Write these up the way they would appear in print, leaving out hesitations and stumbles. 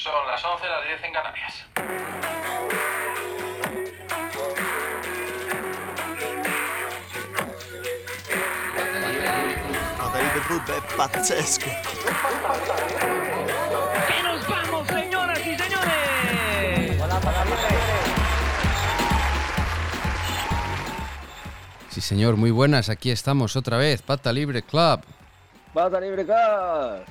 Son las 11, las 10 en Canarias. Madrid de fútbol è pazzesco. ¡Que nos vamos, señoras y señores! Sí, señor, muy buenas. Aquí estamos otra vez, Pata Libre Club. Pata Libre Club.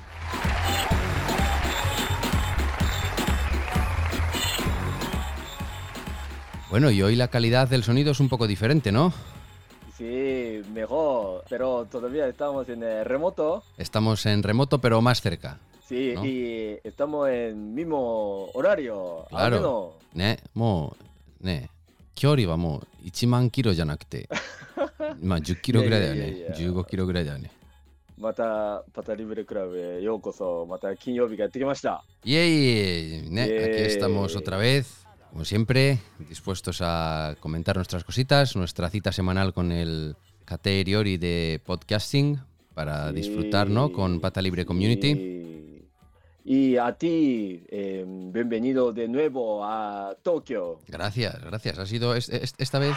Bueno, y hoy la calidad del sonido es un poco diferente, ¿no? Sí, mejor, pero todavía estamos en el remoto. Estamos en remoto, pero más cerca. Sí, ¿no? y estamos en mismo horario. Claro. Ne, mo, ne. 距離はもう1万キロじゃなくて、まあ10キロぐらいだよね。 いやいやいや 15キロぐらいだよね。 またパタリブレクラブへようこそ。また金曜日がやってきました。 ¡Yay! Ne, Yay. aquí estamos otra vez, como siempre, dispuestos a comentar nuestras cositas, nuestra cita semanal con el Kate Riori de podcasting para disfrutar, ¿no? Con Pata Libre Community. Y a ti, bienvenido de nuevo a Tokio. Gracias. Ha sido esta vez.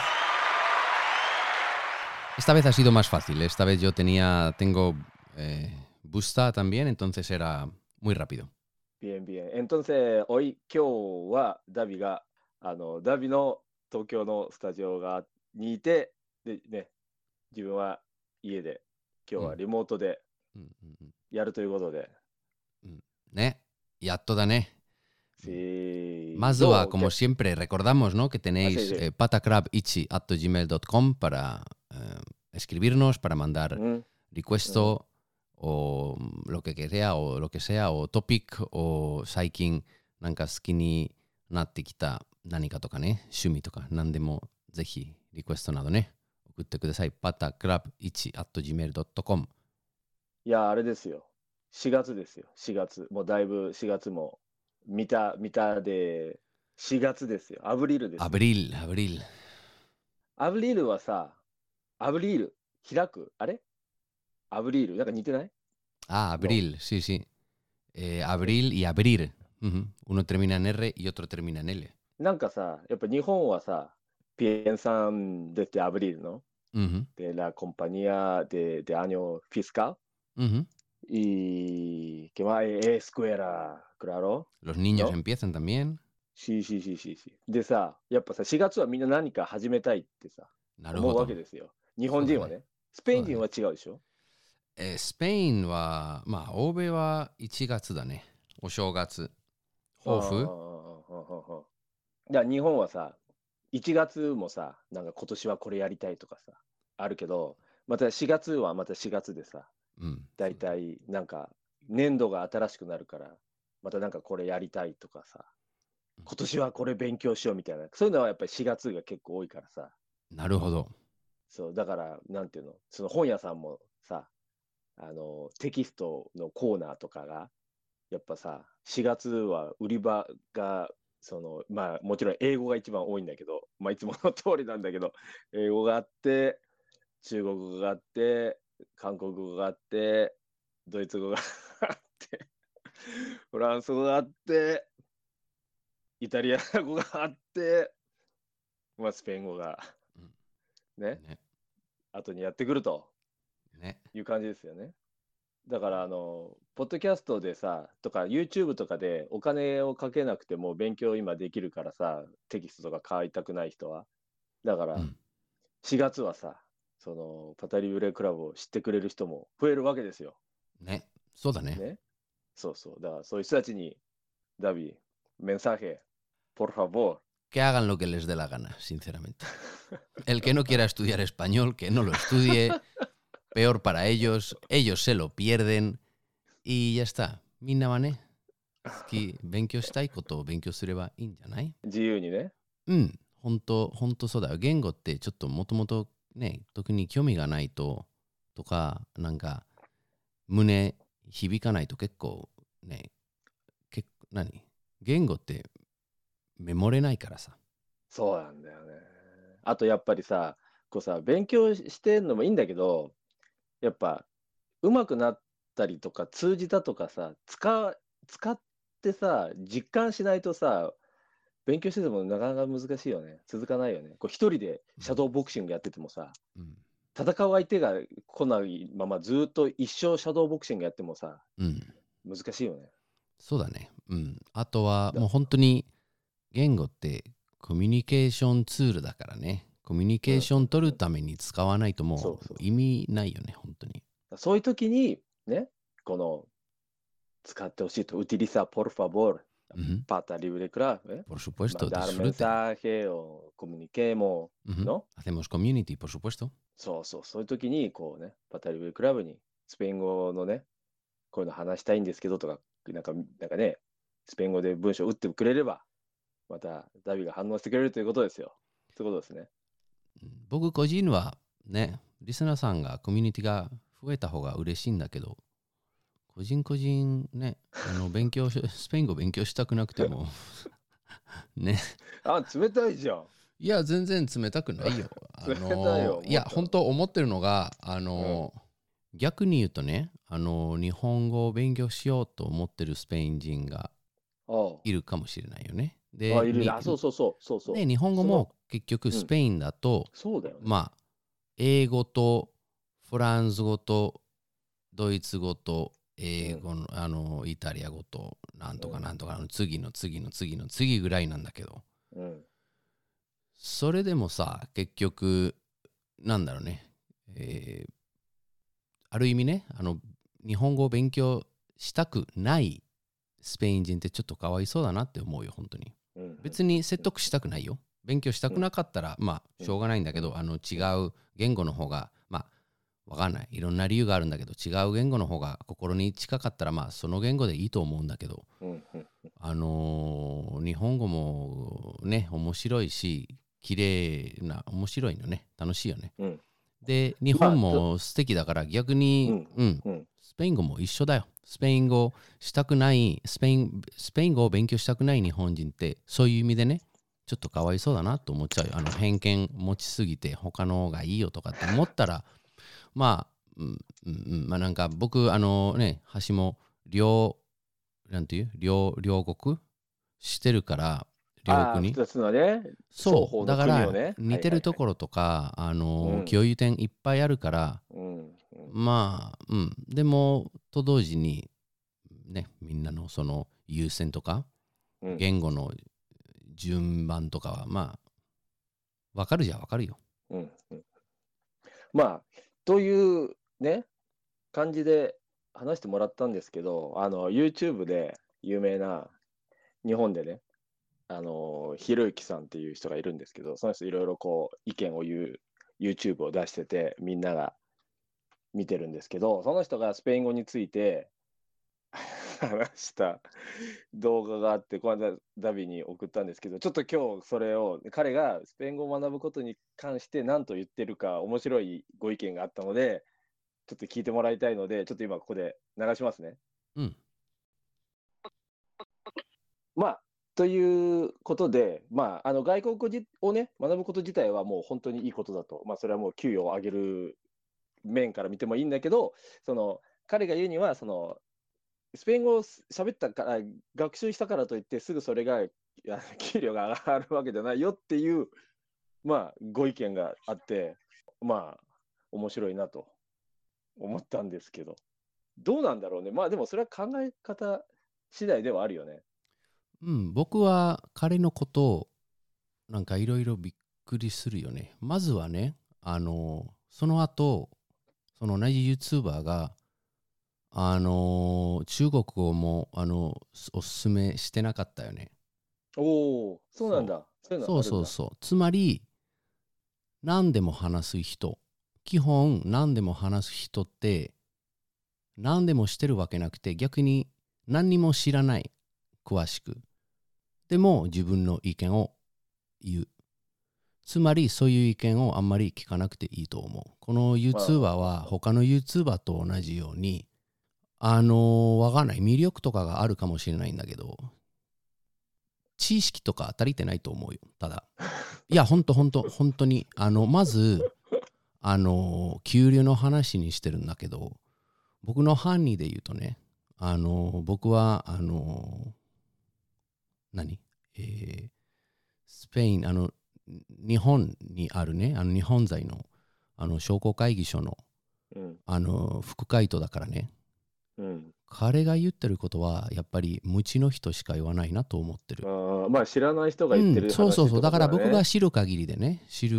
Esta vez ha sido más fácil. Esta vez yo tengo Busta también, entonces era muy rápido. Bien. Entonces, hoy, 今日はダビが、ダビの東京のスタジオにいて、でね、自分は家で、今日はリモートでやるということで。 ね、やっとだね。 Sí. Más duda, como siempre, recordamos, ¿no? Que tenéis sí. patacrabichi@gmail.com para escribirnos, para mandar request o lo que sea, o topic, o saikin nanka suki ni natte kita nanika toka ne, shumi toka, nandemo zehi request nado ne, okutte kudasai. patacrabichi@gmail.com。 いや、あれですよ。4月ですよ。4月。もうだいぶ4月も見たで4月ですよ。アブリルですよ。 アブリルはさ、アブリル開くあれアブリルなんか似てない？ abril, sí. Abril y abrir. Uno termina en R y otro termina en L. なんかさ、やっぱ日本はさ、piensan desde abril, ¿no? De la compañía de año fiscal. Y que va escuela, claro. Los niños ¿no? empiezan también. Sí. でさ、やっぱさ、4月はみんな何か始めたいってさ、思うわけですよ。日本人はね。スペイン人は違うでしょ？ スペインは、まあ、欧米は1月だね。お正月。抱負？ だから日本はさ、1月もさ、なんか今年はこれやりたいとかさ、あるけど、また4月はまた4月でさ、だいたいなんか年度が新しくなるから、またなんかこれやりたいとかさ、今年はこれ勉強しようみたいな、そういうのはやっぱり4月が結構多いからさ。 なるほど。 そう、だから、なんていうの、その本屋さんもさ、テキストのコーナーとかが、やっぱさ、4月は売り場が、まあ、もちろん英語が一番多いんだけど、まあ、いつもの通りなんだけど、英語があって、中国語があって、韓国語があって、ドイツ語があって、フランス語があって、イタリア語があって、まあ、スペイン語が、ね、後にやってくるという感じですよね。だからポッドキャストでさ、とか YouTube とかでお金をかけなくても勉強今できるからさ、テキストとか買いたくない人は。だから、4月はさ、パタリブレクラブを知ってくれる人も増えるわけですよ。 ね、そうだね。 そう。だからそういう人たちに、ダビ、mensaje, por favor. Que hagan lo que les dé la gana, sinceramente. El que no quiera estudiar español, que no lo estudie. Peor para ellos se lo pierden. Y ya está. Minna wa ne, suki benkyou shitai kotoを勉強すればいいんじゃない？ 自由にね。 ほんとそうだよ。言語ってちょっともともとね、特に興味がないとか、なんか胸響かないと結構ね、言語ってメモれないからさ。 そうなんだよね。あとやっぱりさ、こうさ、勉強してんのもいいんだけど、やっぱ上手くなったりとか通じたとかさ、使っってさ、実感しないとさ、勉強しててもなかなか難しいよね。続かないよね。こう一人でシャドーボクシングやっててもさ、 うん。 戦う相手が来ないままずっと一生シャドーボクシングやってもさ、 うん。 難しいよね。 そうだね。うん。あとはだもう本当に言語ってコミュニケーションツールだからね。コミュニケーション取るために使わないともそうそうう意味ないよね、本当に。 そういう時に、ね、この使ってほしいと、utiliza por favor, Ujú. para libre clave, Por supuesto, mandar disfruten. mensaje o comuniquemos, Ujú. ¿no? Hacemos community, por supuesto. そういう時に、こうね、パタリブレクラブにスペイン語のね、こういうの話したいんですけどとか、なんかね、スペイン語で文章を打ってくれれば、またダビが反応してくれるということですよ。そういうことですね。 僕個人はね、リスナーさんがコミュニティが増えた方が嬉しいんだけど、個人ね、スペイン語勉強したくなくてもね。 あ、冷たいじゃん。 いや、全然冷たくないよ。 冷たいよ。 いや、本当思ってるのが、逆に言うとね、日本語を勉強しようと思ってるスペイン人がいるかもしれないよね。で、 いる。そう。 ね、日本語も結局スペインだと、 そうだよね。 まあ、英語とフランス語とドイツ語と英語の、イタリア語となんとかなんとかの次の次ぐらいなんだけど、それでもさ、結局なんだろうね、ある意味ね、日本語を勉強したくないスペイン人ってちょっとかわいそうだなって思うよ、本当に。別に説得したくないよ。勉強したくなかったら、まあ、しょうがないんだけど、違う言語の方が、まあ、わかんない。いろんな理由があるんだけど、違う言語の方が心に近かったら、まあ、その言語でいいと思うんだけど、日本語もね、面白いし、綺麗な、面白いのね、楽しいよね。で、日本も素敵だから逆に、スペイン語も一緒だよ。スペイン語したくない、スペイン語を勉強したくない日本人って、そういう意味でね、ちょっとかわいそうだなと思っちゃうよ。偏見持ちすぎて他の方がいいよとかって思ったら、まあ、まあなんか僕、橋もなんていう両国してるから、両国。 2つのね、 そう、だからね、 似てるところとか、共有点いっぱいあるから、まあ、でも、と同時に、ね、みんなのその優先とか、言語の順番とかは、まあ、わかるよ。 まあ、というね、感じで話してもらったんですけど、YouTube で有名な、日本でね、ひろゆきさんっていう人がいるんですけど、その人いろいろこう意見を言う YouTube を出してて、みんなが見てるんですけど、その人がスペイン語について話した動画があって、この間ダビに送ったんですけど、ちょっと今日それを彼がスペイン語を学ぶことに関して何と言ってるか面白いご意見があったので、ちょっと聞いてもらいたいので、ちょっと今ここで流しますね。まあということで、まあ、外国語をね、学ぶこと自体はもう本当にいいことだと。まあ、それはもう給与を上げる面から見てもいいんだけど、彼が言うには、スペイン語を喋ったから、学習したからといって、すぐそれが給料が上がるわけじゃないよっていう、まあ、ご意見があって、まあ、面白いなと思ったんですけど、どうなんだろうね。まあ、でもそれは考え方次第ではあるよね。 僕は彼のことをなんかいろいろびっくりするよね。まずはね、その後、その同じ YouTuber が、中国語もおすすめしてなかったよね。 おお、そうなんだ。 そう。つまり、何でも話す人、基本何でも話す人って、何でもしてるわけなくて、逆に何にも知らない、詳しく。でも自分の意見を言う。つまりそういう意見をあんまり聞かなくていいと思う。この YouTuber は他の YouTuber と同じように、わかんない。魅力とかがあるかもしれないんだけど、知識とか足りてないと思うよ。ただ。いや、本当に。まず、給料の話にしてるんだけど、僕の範囲で言うとね、僕は、 何、スペイン、日本にあるね、日本在の、商工会議所の、副会頭だからね、彼が言ってることは、やっぱり無知の人しか言わないなと思ってる。 まあ知らない人が言ってる話ってことだね。 そうそうそう。だから僕が知る限りでね、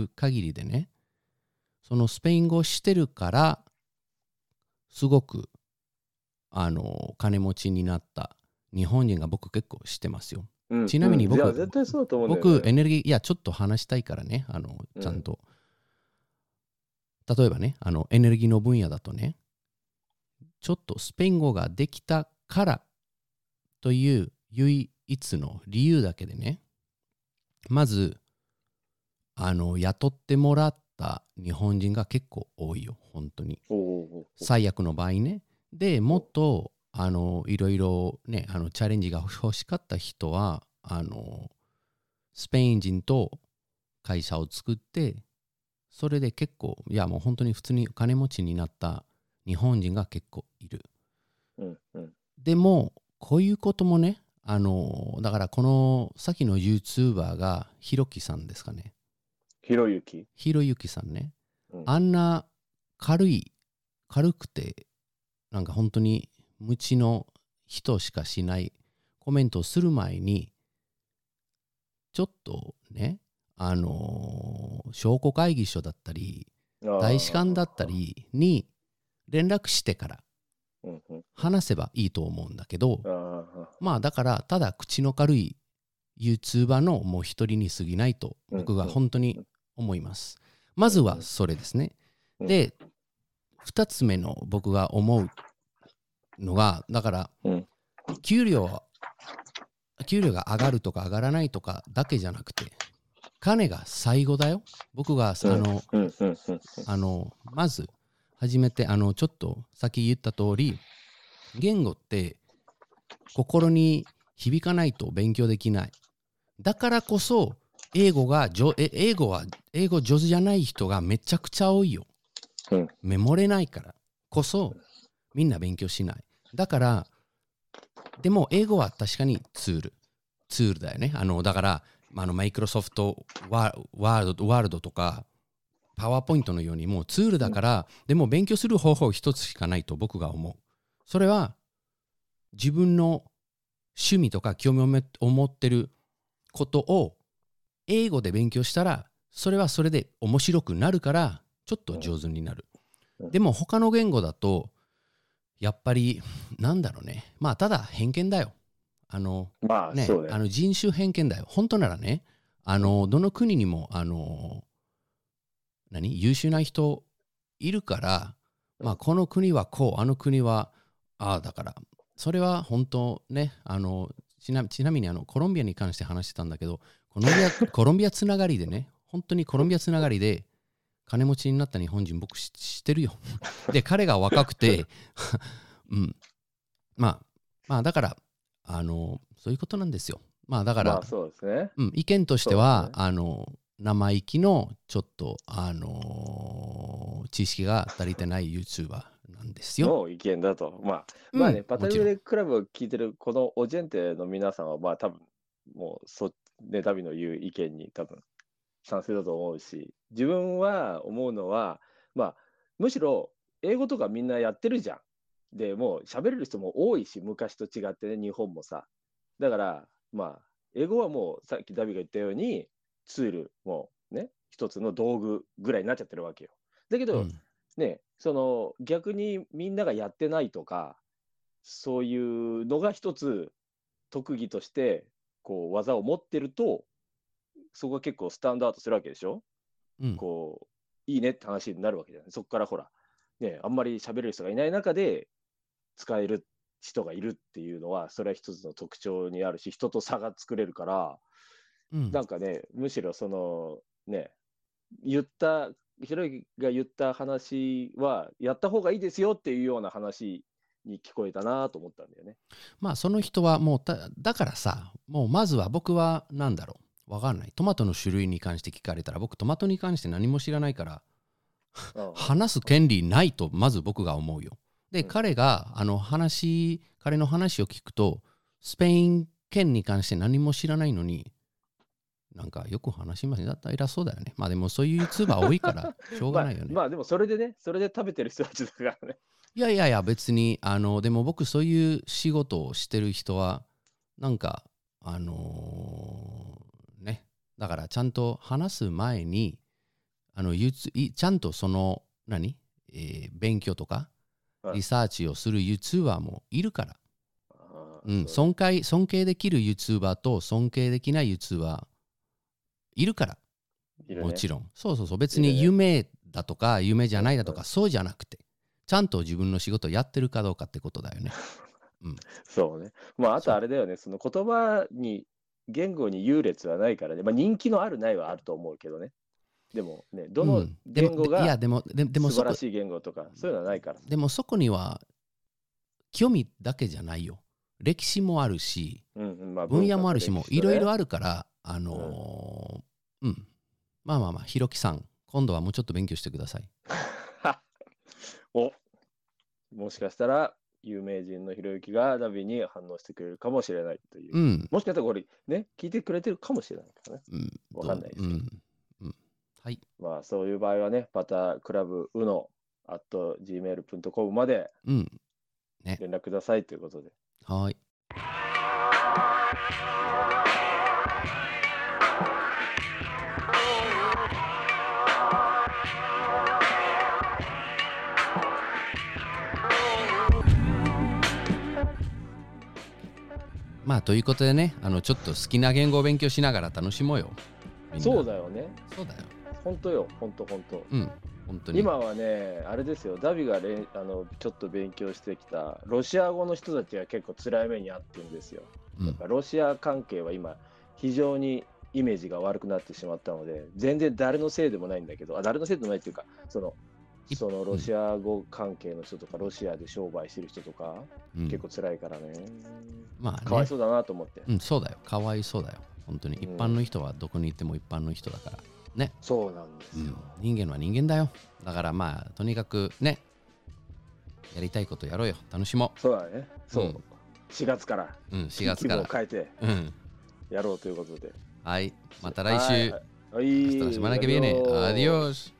そのスペイン語をしてるから、すごく、金持ちになった日本人が僕結構知ってますよ。ちなみに僕、 絶対そうだと思うんだよね。 僕エネルギー、いや、ちょっと話したいからね、ちゃんと。例えばね、エネルギーの分野だとね、ちょっとスペイン語ができたからという唯一の理由だけでね、まず、雇ってもらった日本人が結構多いよ、本当に。最悪の場合ね。で、もっと、いろいろね、チャレンジが欲しかった人は、スペイン人と会社を作って、それで結構、いやもう本当に普通に金持ちになった日本人が結構いる。でも、こういうこともね、だからこの先の YouTuber がひろきさんですかね。ひろゆきさんね。あんな軽くて、なんか本当に無知の人しかしないコメントをする前に、ちょっとね、商工会議所だったり、大使館だったりに連絡してから話せばいいと思うんだけど、まあだからただ口の軽い YouTuber のもう一人に過ぎないと僕が本当に思います。まずはそれですね。で、2つ目の僕が思うのが、だから給料が上がるとか上がらないとかだけじゃなくて、金が最後だよ。僕がまず初めてちょっとさっき言った通り、言語って心に響かないと勉強できない。だからこそ英語上手じゃない人がめちゃくちゃ多いよ。メモれないからこそみんな勉強しない。だからでも英語は確かにツールだよね。だからマイクロソフトワールドとかパワーポイントのようにもうツールだから、でも勉強する方法一つしかないと僕が思う。それは自分の趣味とか興味を持ってることを英語で勉強したら、それはそれで面白くなるからちょっと上手になる。でも他の言語だとやっぱりなんだろうね、まあただ偏見だよ。人種偏見だよ。本当ならね、どの国にも優秀な人いるから、まあこの国はこう、あの国はだからそれは本当ね、ちなみにコロンビアに関して話してたんだけど、コロンビアつながりでね、本当にコロンビアつながりで金持ちになった日本人僕知ってるよ。で彼が若くてまあだからそういうことなんですよ。まあだから、 そうですね。 意見としては、生意気のちょっと知識が足りてない YouTuber なんですよ。 の意見だと。まあね、パタグレクラブを聞いてるこのオジェンテの皆さんは、まあ多分、もうダビの言う意見に多分賛成だと思うし、自分は思うのは、まあむしろ英語とかみんなやってるじゃん。でもう喋れる人も多いし、昔と違ってね、日本もさ。だからまあ英語はもうさっきダビが言ったようにツールもね、一つの道具ぐらいになっちゃってるわけよ。だけど、ね、その逆にみんながやってないとか、そういうのが一つ特技としてこう技を持ってると、そこが結構スタンドアウトするわけでしょ。こういいねって話になるわけじゃない。そこからほら、ね、あんまり喋れる人がいない中で使える人がいるっていうのは、それは一つの特徴にあるし、人と差が作れるから、なんかね、むしろそのね、ひろゆきが言った話はやった方がいいですよっていうような話に聞こえたなと思ったんだよね。 まあその人はもうだからさ、もうまずは僕はなんだろう、わかんない。トマトの種類に関して聞かれたら、僕トマトに関して何も知らないから話す権利ないとまず僕が思うよ。で、彼の話を聞くと、スペイン件に関して何も知らないのに、なんかよく話しますね。だったら偉そうだよね。まあでもそういう YouTuber 多いからしょうがないよね。 まあでもそれでね、それで食べてる人たちだからね。 いやいやいや、別に、でも僕そういう仕事をしてる人は、なんか、ね、だからちゃんと話す前に、ちゃんとその、勉強とか、リサーチをする YouTuber もいるから。尊敬できる YouTuber と尊敬できない YouTuber いるから。もちろん。そう。別に夢だとか、夢じゃないだとか、そうじゃなくて、ちゃんと自分の仕事をやってるかどうかってことだよね。 そうね。まあ、あとあれだよね、その言葉に、言語に優劣はないからね。まあ、人気のあるないはあると思うけどね。でもね、どの言語が素晴らしい言語とか、そういうのはないから。 でもそこには、興味だけじゃないよ。歴史もあるし、分野もあるし、もいろいろあるから、まあ、ひろきさん、今度はもうちょっと勉強してください。 もしかしたら、有名人のひろゆきがダビに反応してくれるかもしれないという。もしかしたらこれ、ね、聞いてくれてるかもしれないからね。わかんないですけど。 はい。 まあ、そういう場合はね、また、クラブうの@gmail.com まで連絡くださいということで。 はい。まあということでね、ちょっと好きな言語を勉強しながら楽しもうよ。 そうだよね。 そうだよ。 本当よ、本当。 本当に。 今はね、あれですよ、ダビがちょっと勉強してきたロシア語の人たちが結構辛い目に遭ってるんですよ。やっぱロシア関係は今、非常にイメージが悪くなってしまったので、全然誰のせいでもないんだけど、誰のせいでもないっていうか、そのロシア語関係の人とか、ロシアで商売してる人とか、結構辛いからね。 まあね、 かわいそうだなと思って。 そうだよ。かわいそうだよ。本当に。一般の人はどこに行っても一般の人だから。ね。 そうなんですよ。 人間は人間だよ。だからまあ、とにかくね、やりたいことやろうよ。楽しもう。 そうだね。そう。4月から。 4月から。 気分を変えて、やろうということで。 はい。また来週。 はい。 Hasta la semana que viene. Adiós.